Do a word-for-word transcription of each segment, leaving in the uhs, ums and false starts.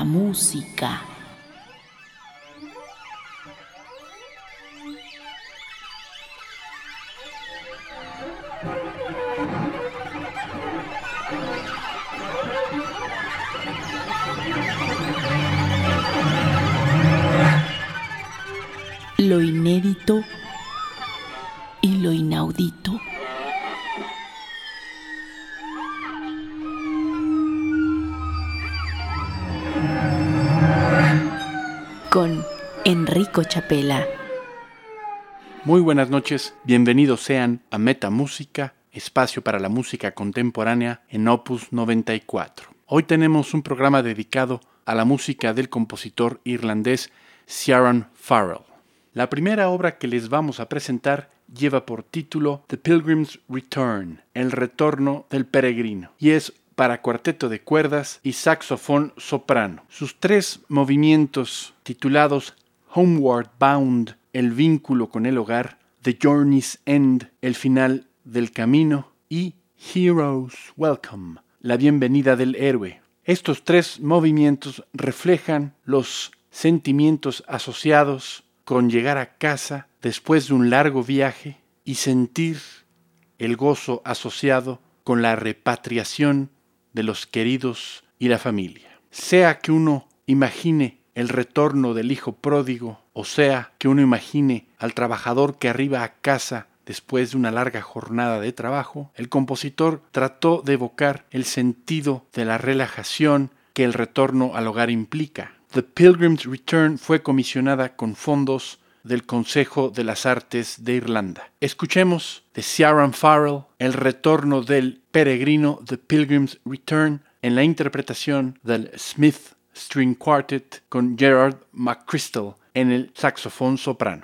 Música. Lo inédito y lo inaudito. Con Enrico Chapela. Muy buenas noches, bienvenidos sean a Metamúsica, espacio para la música contemporánea en Opus noventa y cuatro. Hoy tenemos un programa dedicado a la música del compositor irlandés Ciarán Farrell. La primera obra que les vamos a presentar lleva por título The Pilgrim's Return, el retorno del peregrino, y es para cuarteto de cuerdas y saxofón soprano. Sus tres movimientos titulados Homeward Bound, el vínculo con el hogar, The Journey's End, el final del camino, y Hero's Welcome, la bienvenida del héroe. Estos tres movimientos reflejan los sentimientos asociados con llegar a casa después de un largo viaje y sentir el gozo asociado con la repatriación de los queridos y la familia. Sea que uno imagine el retorno del hijo pródigo, o sea que uno imagine al trabajador que arriba a casa después de una larga jornada de trabajo, el compositor trató de evocar el sentido de la relajación que el retorno al hogar implica. The Pilgrim's Return fue comisionada con fondos del Consejo de las Artes de Irlanda. Escuchemos de Ciarán Farrell el retorno del peregrino, The Pilgrim's Return, en la interpretación del Smith String Quartet con Gerard McChrystal en el saxofón soprano.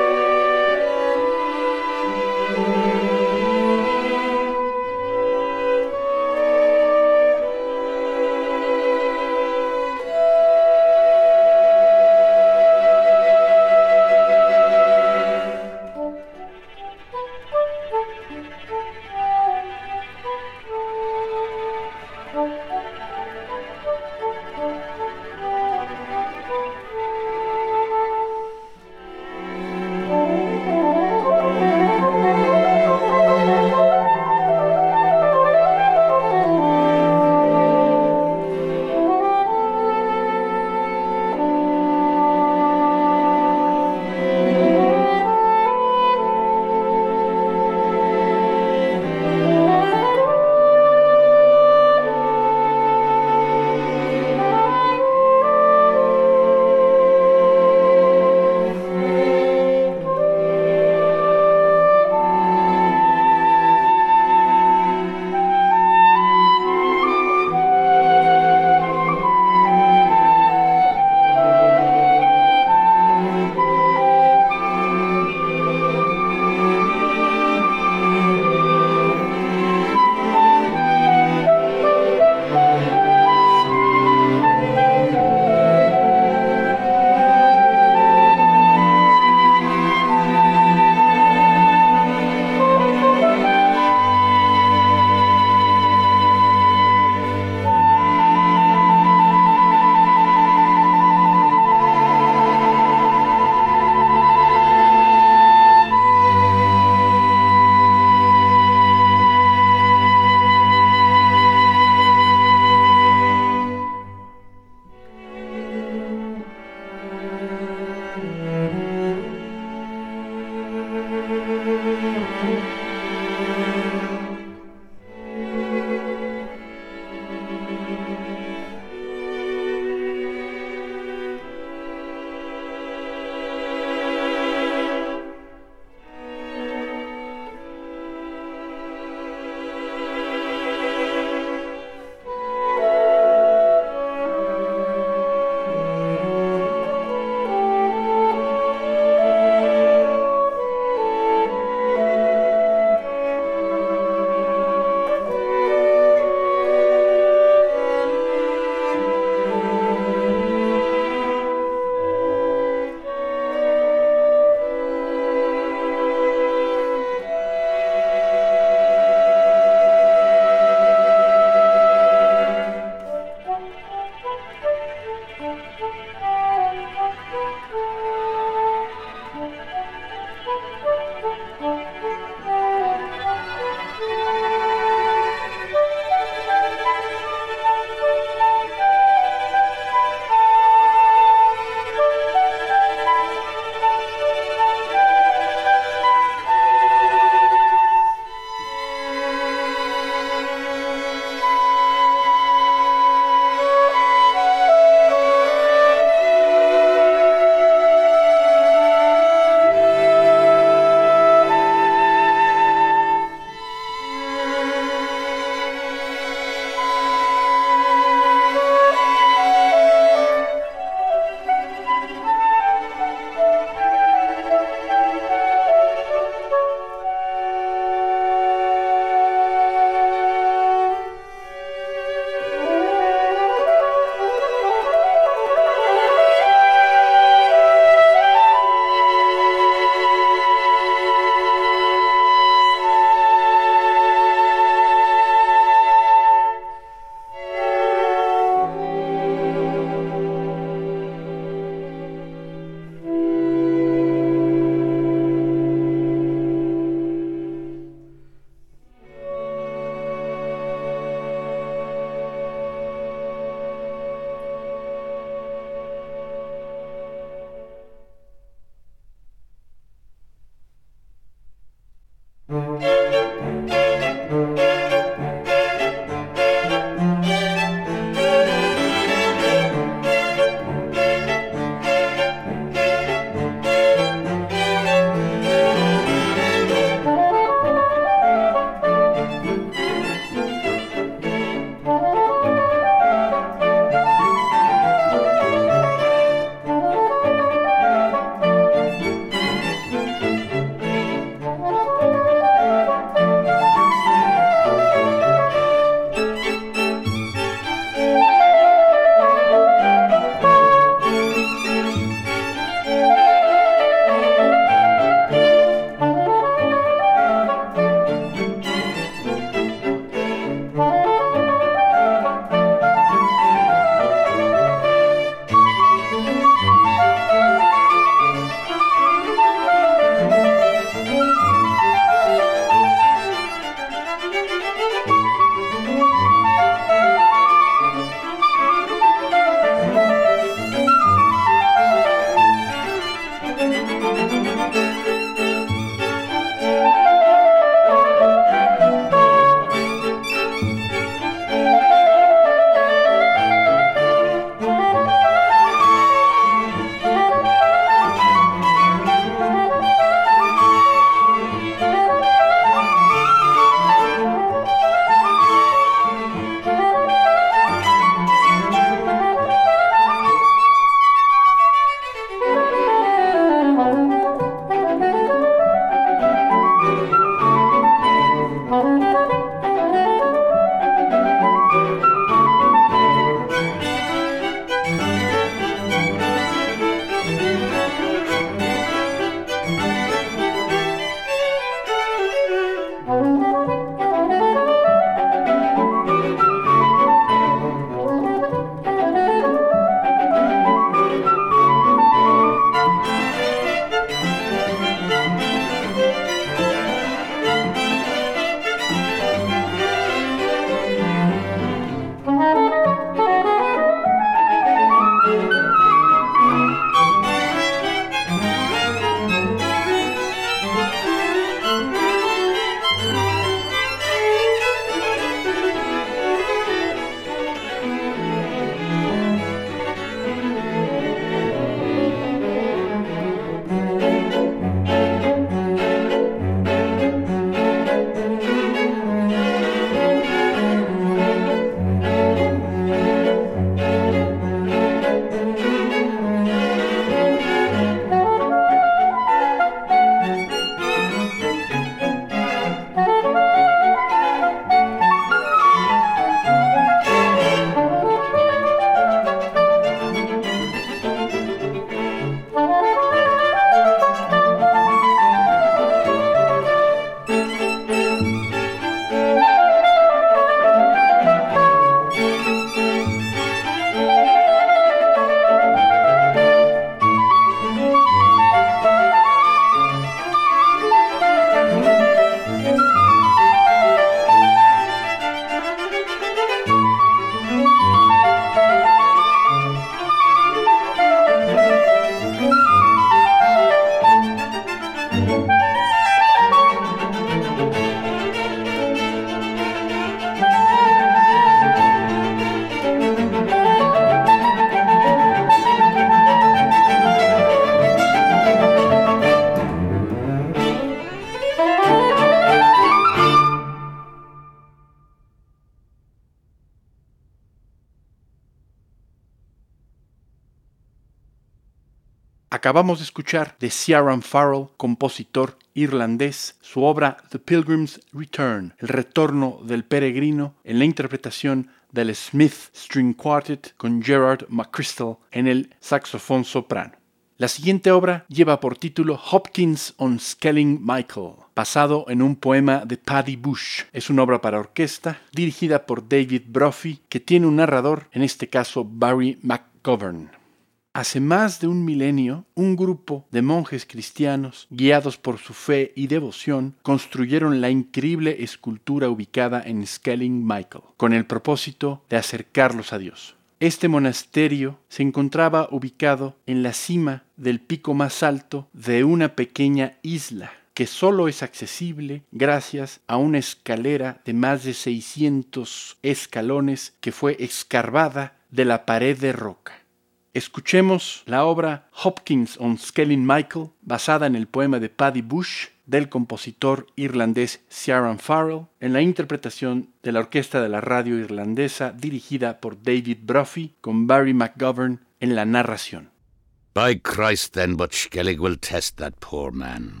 Acabamos de escuchar de Ciaran Farrell, compositor irlandés, su obra The Pilgrim's Return, El retorno del peregrino, en la interpretación del Smith String Quartet con Gerard McChrystal en el saxofón soprano. La siguiente obra lleva por título Hopkins on Skelling Michael, basado en un poema de Paddy Bush. Es una obra para orquesta dirigida por David Brophy, que tiene un narrador, en este caso Barry McGovern. Hace más de un milenio, un grupo de monjes cristianos, guiados por su fe y devoción, construyeron la increíble escultura ubicada en Skelling Michael, con el propósito de acercarlos a Dios. Este monasterio se encontraba ubicado en la cima del pico más alto de una pequeña isla, que solo es accesible gracias a una escalera de más de seiscientos escalones que fue escarbada de la pared de roca. Escuchemos la obra Hopkins on Skelling Michael, basada en el poema de Paddy Bush, del compositor irlandés Ciaran Farrell, en la interpretación de la Orquesta de la Radio Irlandesa dirigida por David Brophy, con Barry McGovern en la narración. By Christ then, but Skellig will test that poor man.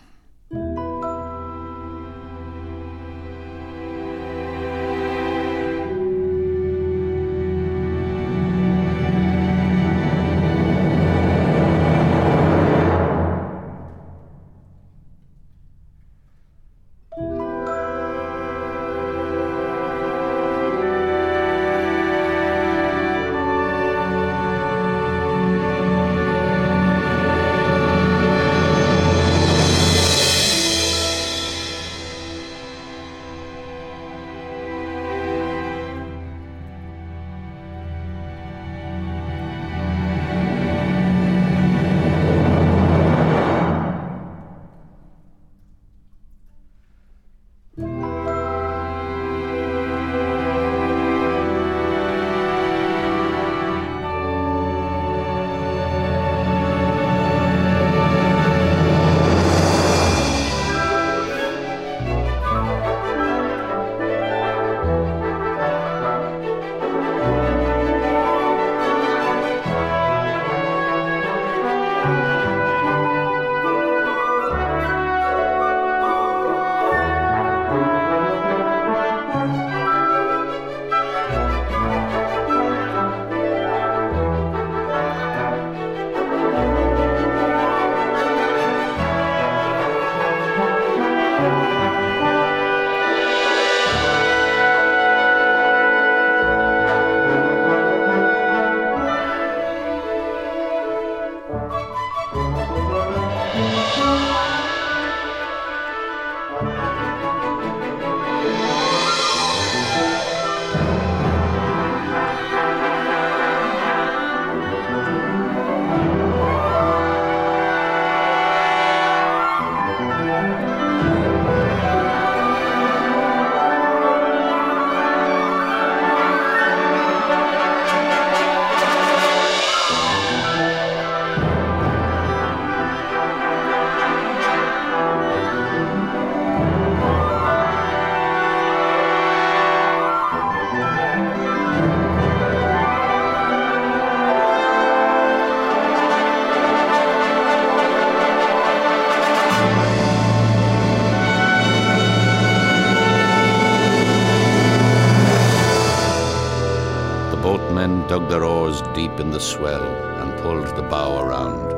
Dug their oars deep in the swell and pulled the bow around.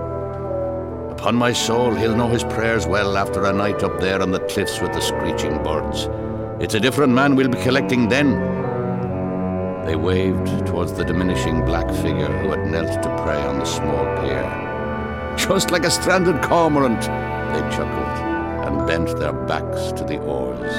Upon my soul, he'll know his prayers well after a night up there on the cliffs with the screeching birds. It's a different man we'll be collecting then. They waved towards the diminishing black figure who had knelt to pray on the small pier. Just like a stranded cormorant, they chuckled and bent their backs to the oars.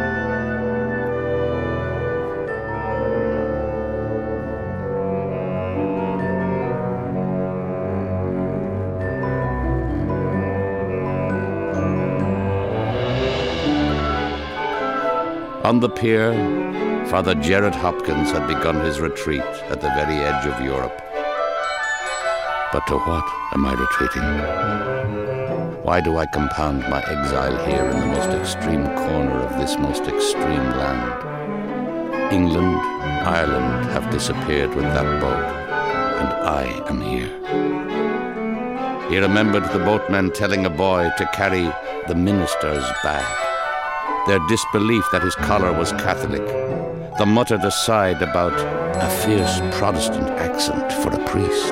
On the pier, Father Gerard Hopkins had begun his retreat at the very edge of Europe. But to what am I retreating? Why do I compound my exile here in the most extreme corner of this most extreme land? England, Ireland have disappeared with that boat, and I am here. He remembered the boatmen telling a boy to carry the minister's bag. Their disbelief that his collar was Catholic. The muttered aside about a fierce Protestant accent for a priest.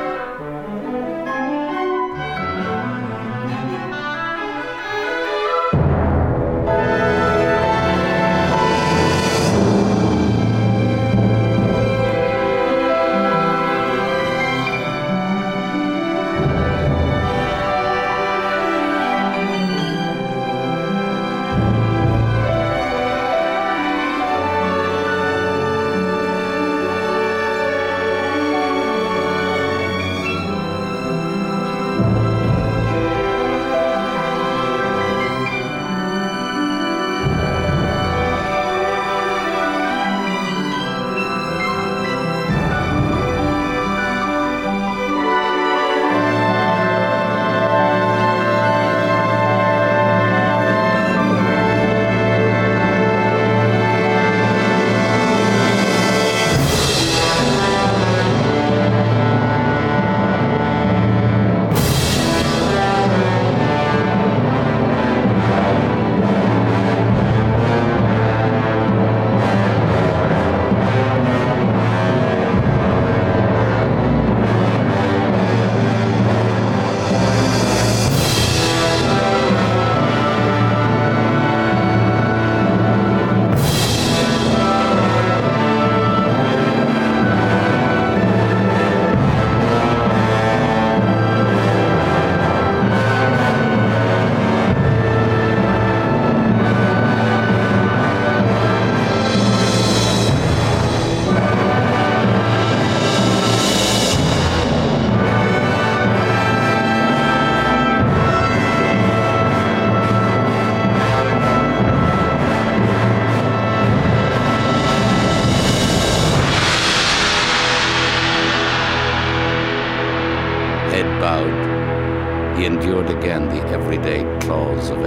He endured again the everyday claws of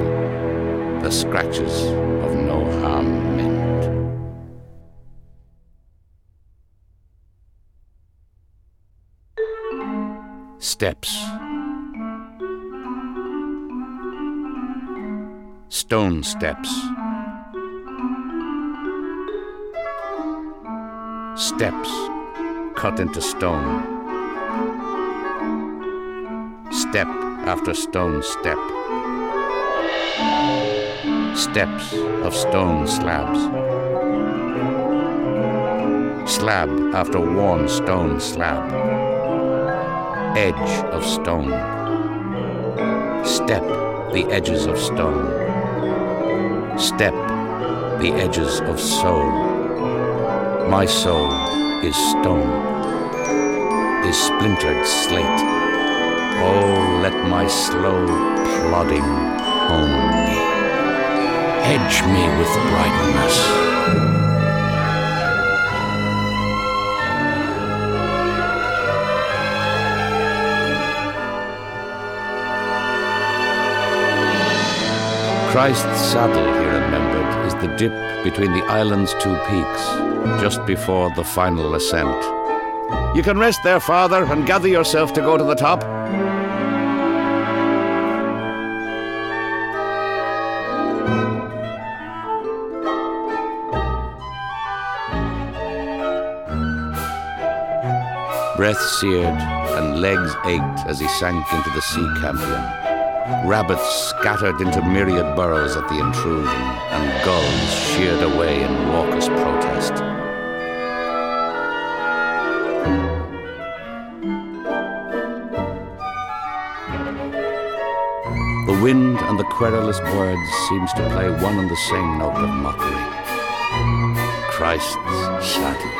exile, the scratches of no harm meant. Steps. Stone steps. Steps cut into stone. Step after stone step. Steps of stone slabs. Slab after worn stone slab. Edge of stone. Step the edges of stone. Step the edges of soul. My soul is stone, is splintered slate. Oh, let my slow plodding hone me, edge me with brightness. Christ's saddle, he remembered, is the dip between the island's two peaks, just before the final ascent. You can rest there, Father, and gather yourself to go to the top. Breath seared and legs ached as he sank into the sea campion. Rabbits scattered into myriad burrows at the intrusion, and gulls sheared away in raucous protest. The wind and the querulous birds seems to play one and the same note of mockery. Christ's saddle.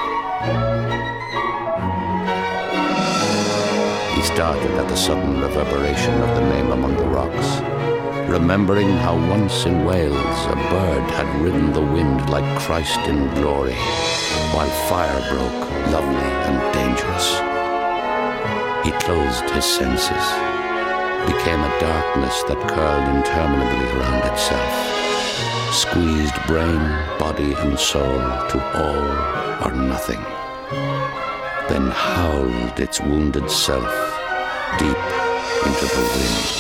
He started at the sudden reverberation of the name among the rocks, remembering how once in Wales a bird had ridden the wind like Christ in glory, while fire broke, lovely and dangerous. He closed his senses, became a darkness that curled interminably around itself, squeezed brain, body and soul to all or nothing, then howled its wounded self deep into the wind.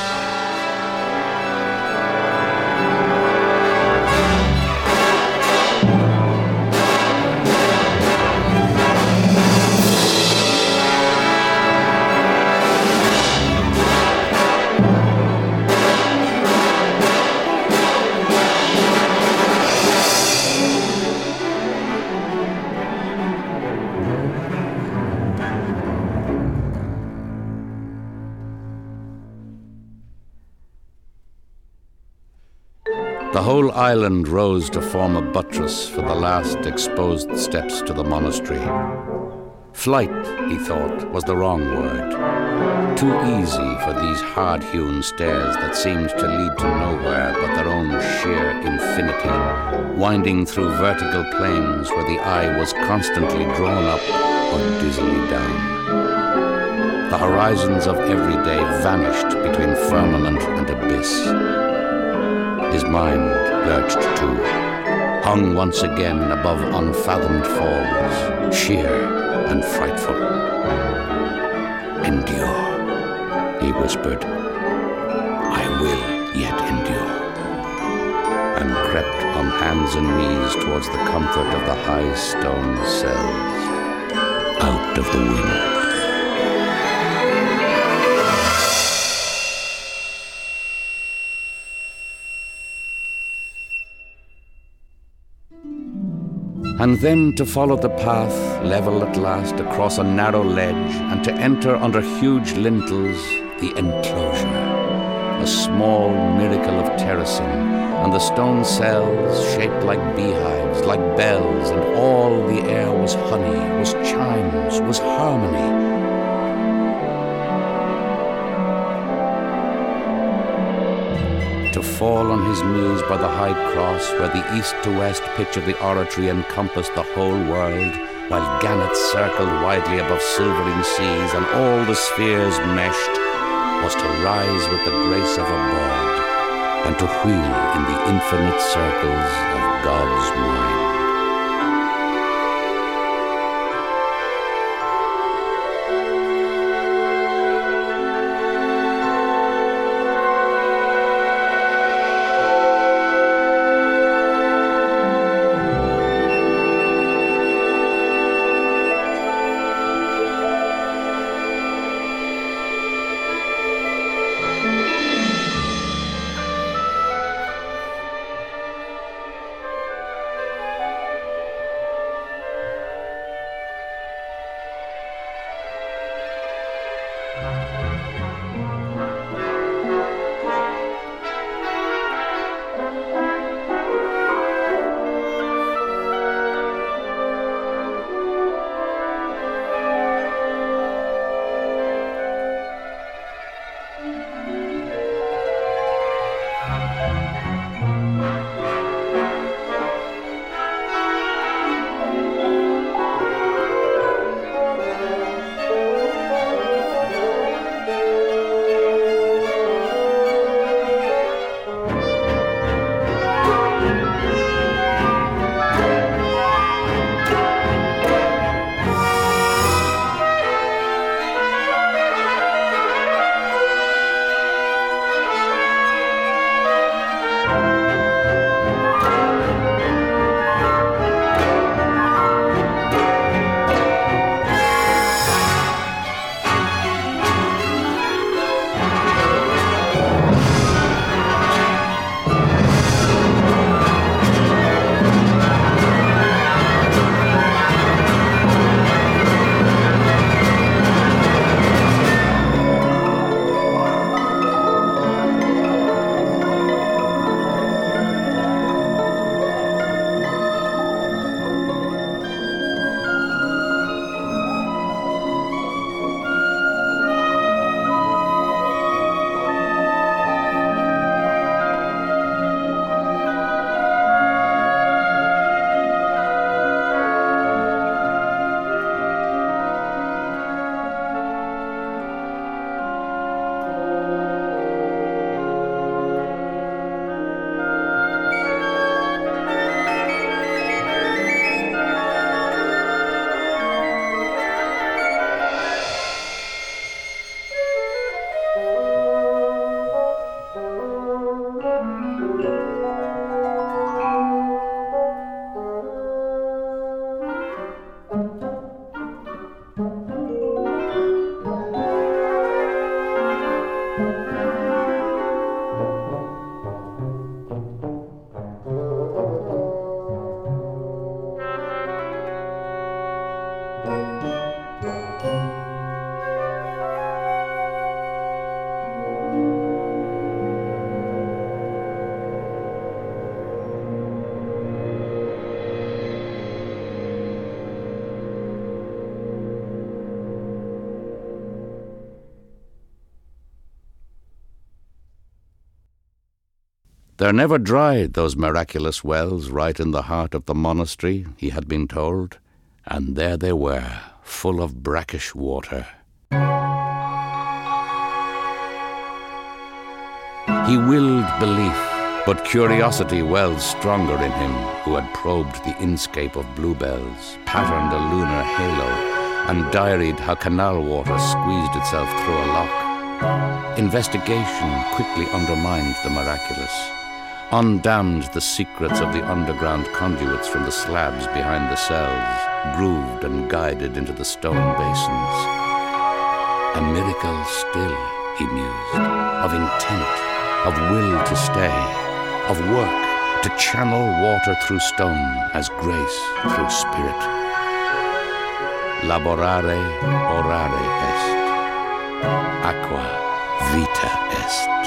The whole island rose to form a buttress for the last exposed steps to the monastery. Flight, he thought, was the wrong word. Too easy for these hard-hewn stairs that seemed to lead to nowhere but their own sheer infinity, winding through vertical planes where the eye was constantly drawn up or dizzily down. The horizons of every day vanished between firmament and abyss. His mind lurched too, hung once again above unfathomed falls, sheer and frightful. Endure, he whispered. I will yet endure. And crept on hands and knees towards the comfort of the high stone cells, out of the wind. And then to follow the path, level at last across a narrow ledge, and to enter under huge lintels the enclosure, a small miracle of terracing, and the stone cells shaped like beehives, like bells, and all the air was honey, was chimes, was harmony. To fall on his knees by the high cross, where the east to west picture the oratory encompassed the whole world, while gannets circled widely above silvering seas, and all the spheres meshed, was to rise with the grace of a bird, and to wheel in the infinite circles of God's mind. They're never dried, those miraculous wells, right in the heart of the monastery, he had been told, and there they were, full of brackish water. He willed belief, but curiosity welled stronger in him, who had probed the inscape of bluebells, patterned a lunar halo, and diaried how canal water squeezed itself through a lock. Investigation quickly undermined the miraculous, undammed the secrets of the underground conduits from the slabs behind the cells, grooved and guided into the stone basins. A miracle still, he mused, of intent, of will to stay, of work to channel water through stone as grace through spirit. Laborare orare est, aqua vita est.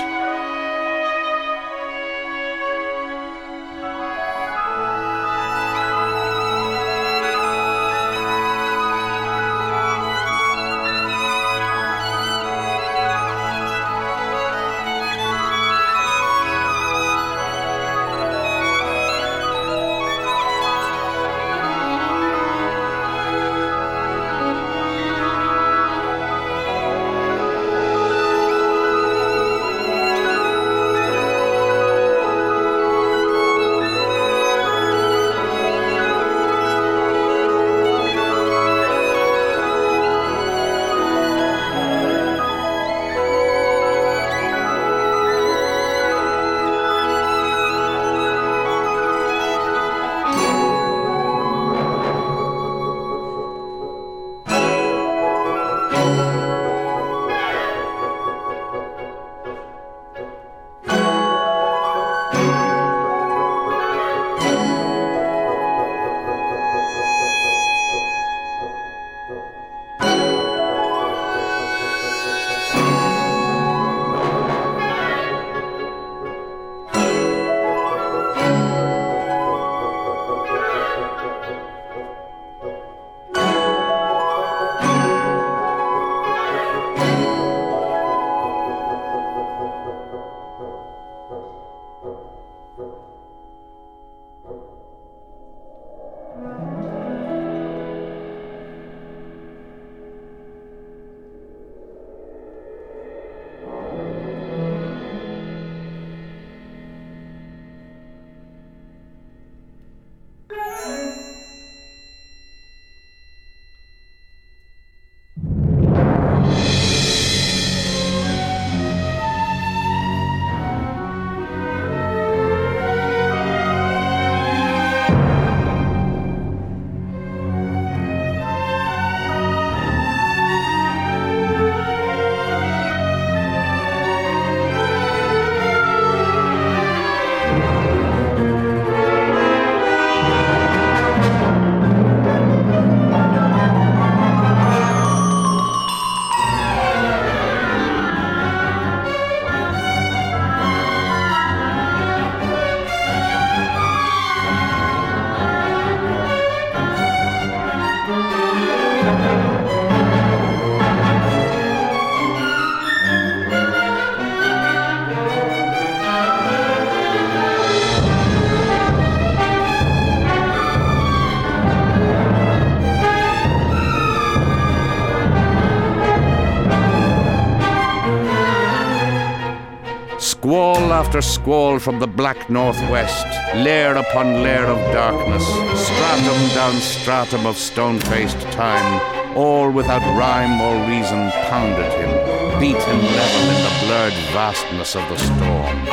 Squall after squall from the black northwest, layer upon layer of darkness, stratum down stratum of stone-faced time, all without rhyme or reason pounded him, beat him level in the blurred vastness of the storm.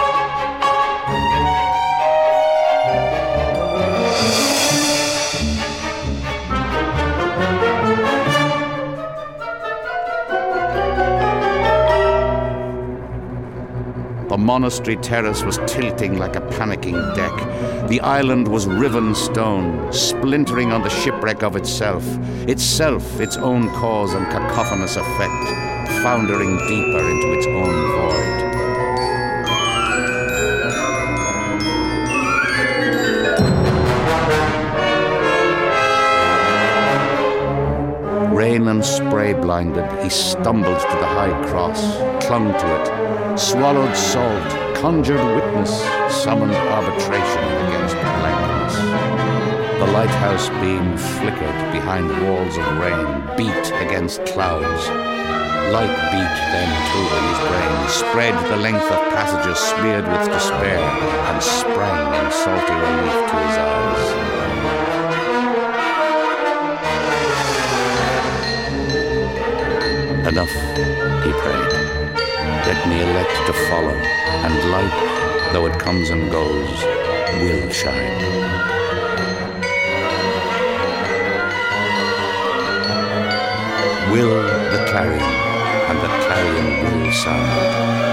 The monastery terrace was tilting like a panicking deck. The island was riven stone, splintering on the shipwreck of itself, itself its own cause and cacophonous effect, foundering deeper into its own void. Rain and spray blinded, he stumbled to the high cross, clung to it, swallowed salt, conjured witness summoned arbitration against blankness. The lighthouse beam flickered behind walls of rain, beat against clouds. Light beat then too in his brain, spread the length of passages smeared with despair, and sprang in salty relief to his eyes. Enough, he prayed. Let me elect to follow, and light, though it comes and goes, will shine. Will the clarion, and the clarion will sound.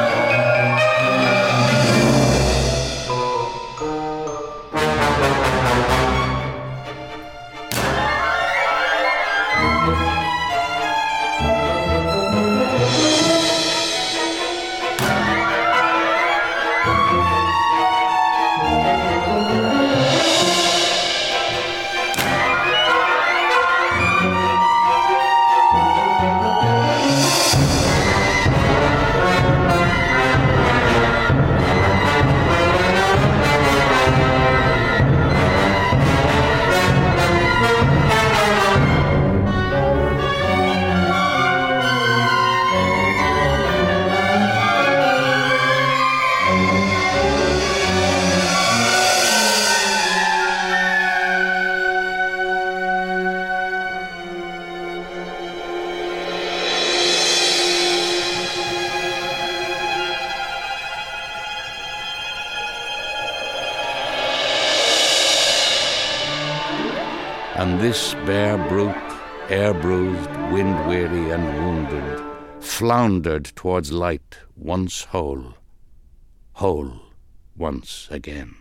And this bare brute, air-bruised, wind-weary and wounded, floundered towards light once whole, whole once again.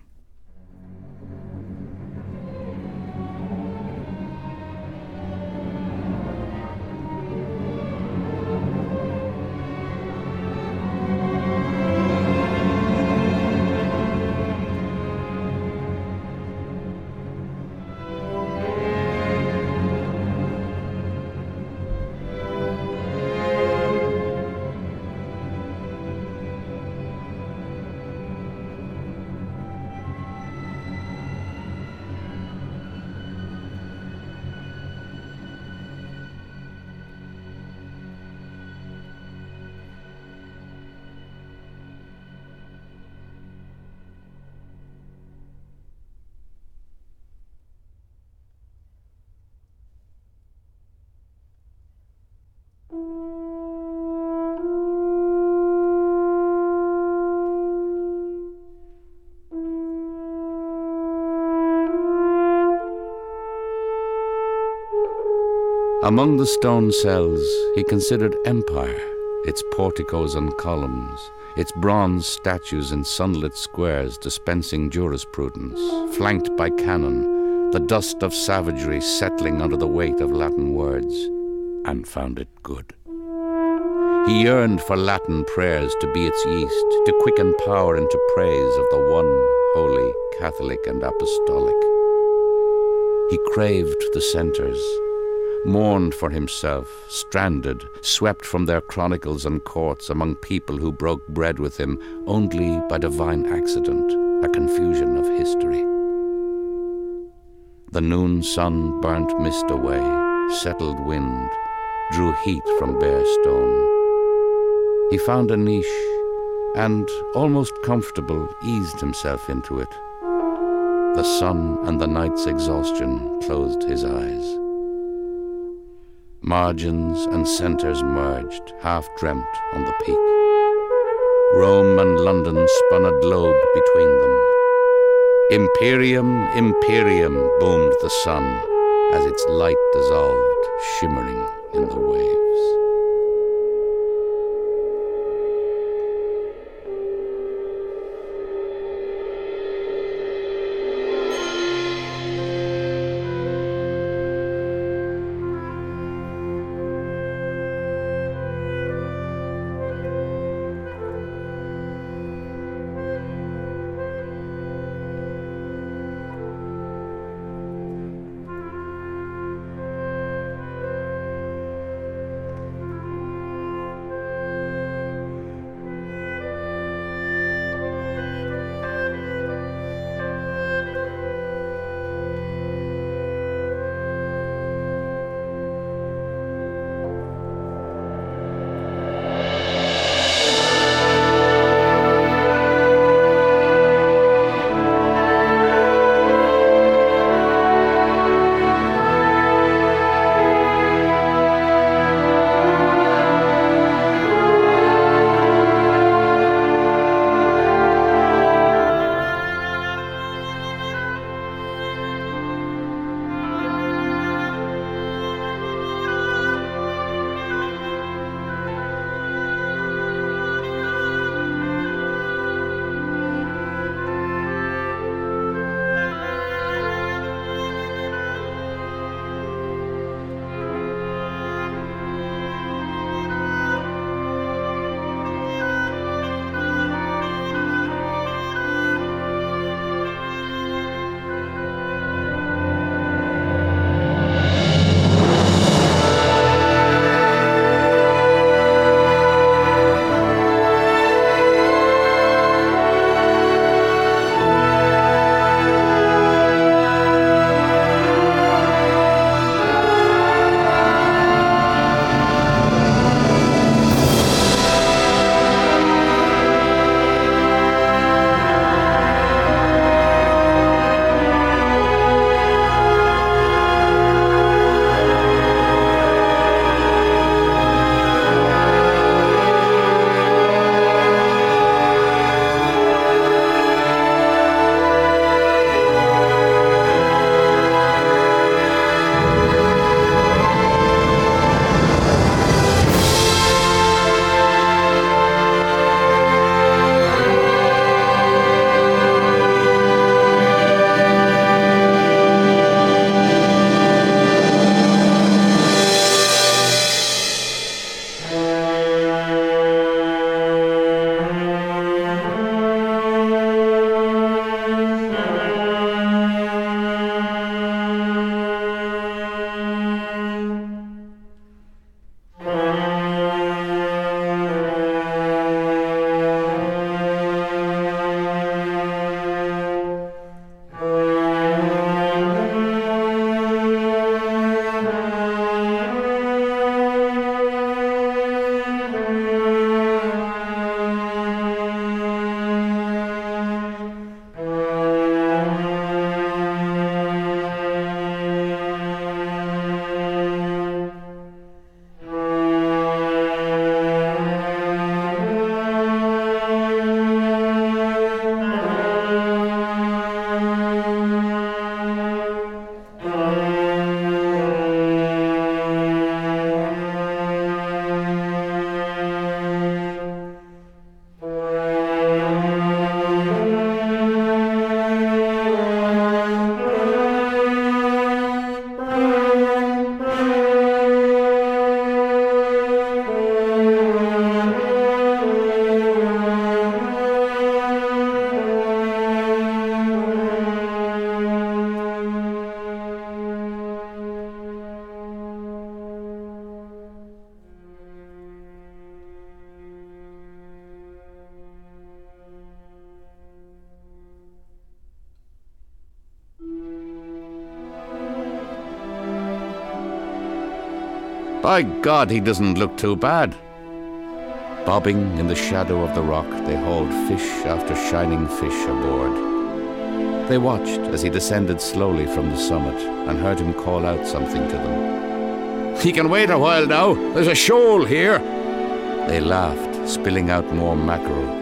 Among the stone cells, he considered empire, its porticos and columns, its bronze statues in sunlit squares dispensing jurisprudence, flanked by cannon, the dust of savagery settling under the weight of Latin words, and found it good. He yearned for Latin prayers to be its yeast, to quicken power into praise of the one holy, Catholic and Apostolic. He craved the centres, mourned for himself, stranded, swept from their chronicles and courts among people who broke bread with him only by divine accident, a confusion of history. The noon sun burnt mist away, settled wind, drew heat from bare stone. He found a niche, and, almost comfortable, eased himself into it. The sun and the night's exhaustion closed his eyes. Margins and centres merged, half-dreamt on the peak. Rome and London spun a globe between them. Imperium, Imperium, boomed the sun as its light dissolved, shimmering in the waves. By God, he doesn't look too bad. Bobbing in the shadow of the rock, they hauled fish after shining fish aboard. They watched as he descended slowly from the summit and heard him call out something to them. "He can wait a while now. There's a shoal here." They laughed, spilling out more mackerel.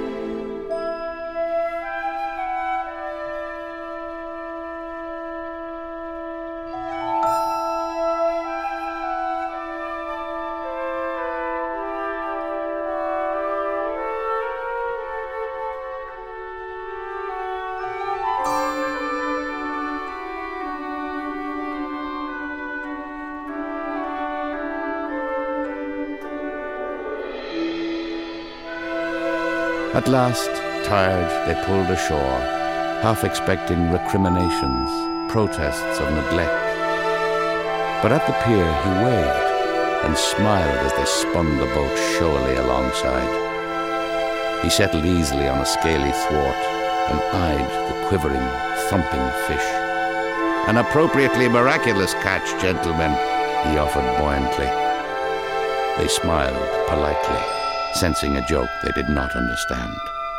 At last, tired, they pulled ashore, half expecting recriminations, protests of neglect. But at the pier he waved and smiled as they spun the boat showily alongside. He settled easily on a scaly thwart and eyed the quivering, thumping fish. "An appropriately miraculous catch, gentlemen," he offered buoyantly. They smiled politely, sensing a joke they did not understand.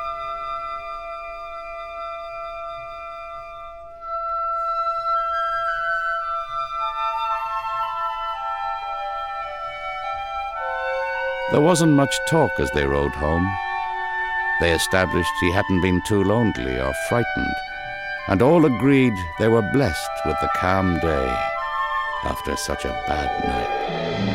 There wasn't much talk as they rode home. They established he hadn't been too lonely or frightened, and all agreed they were blessed with the calm day after such a bad night.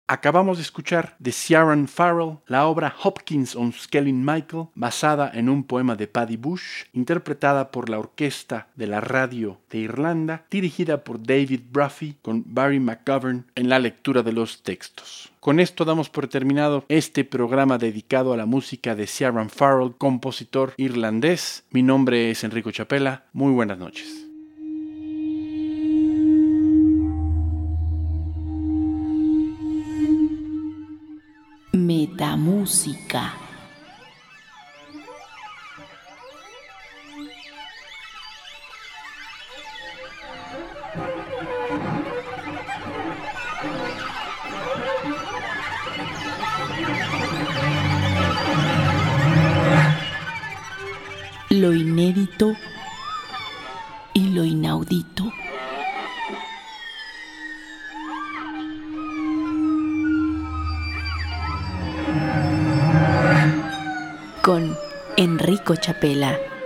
Acabamos de escuchar de Ciaran Farrell la obra Hopkins on Skelling Michael, basada en un poema de Paddy Bush, interpretada por la Orquesta de la Radio de Irlanda, dirigida por David Bruffy, con Barry McGovern en la lectura de los textos. Con esto damos por terminado este programa dedicado a la música de Ciaran Farrell, compositor irlandés. Mi nombre es Enrico Chapela. Muy buenas noches. Metamúsica. Lo inédito y lo inaudito. Con Enrico Chapela.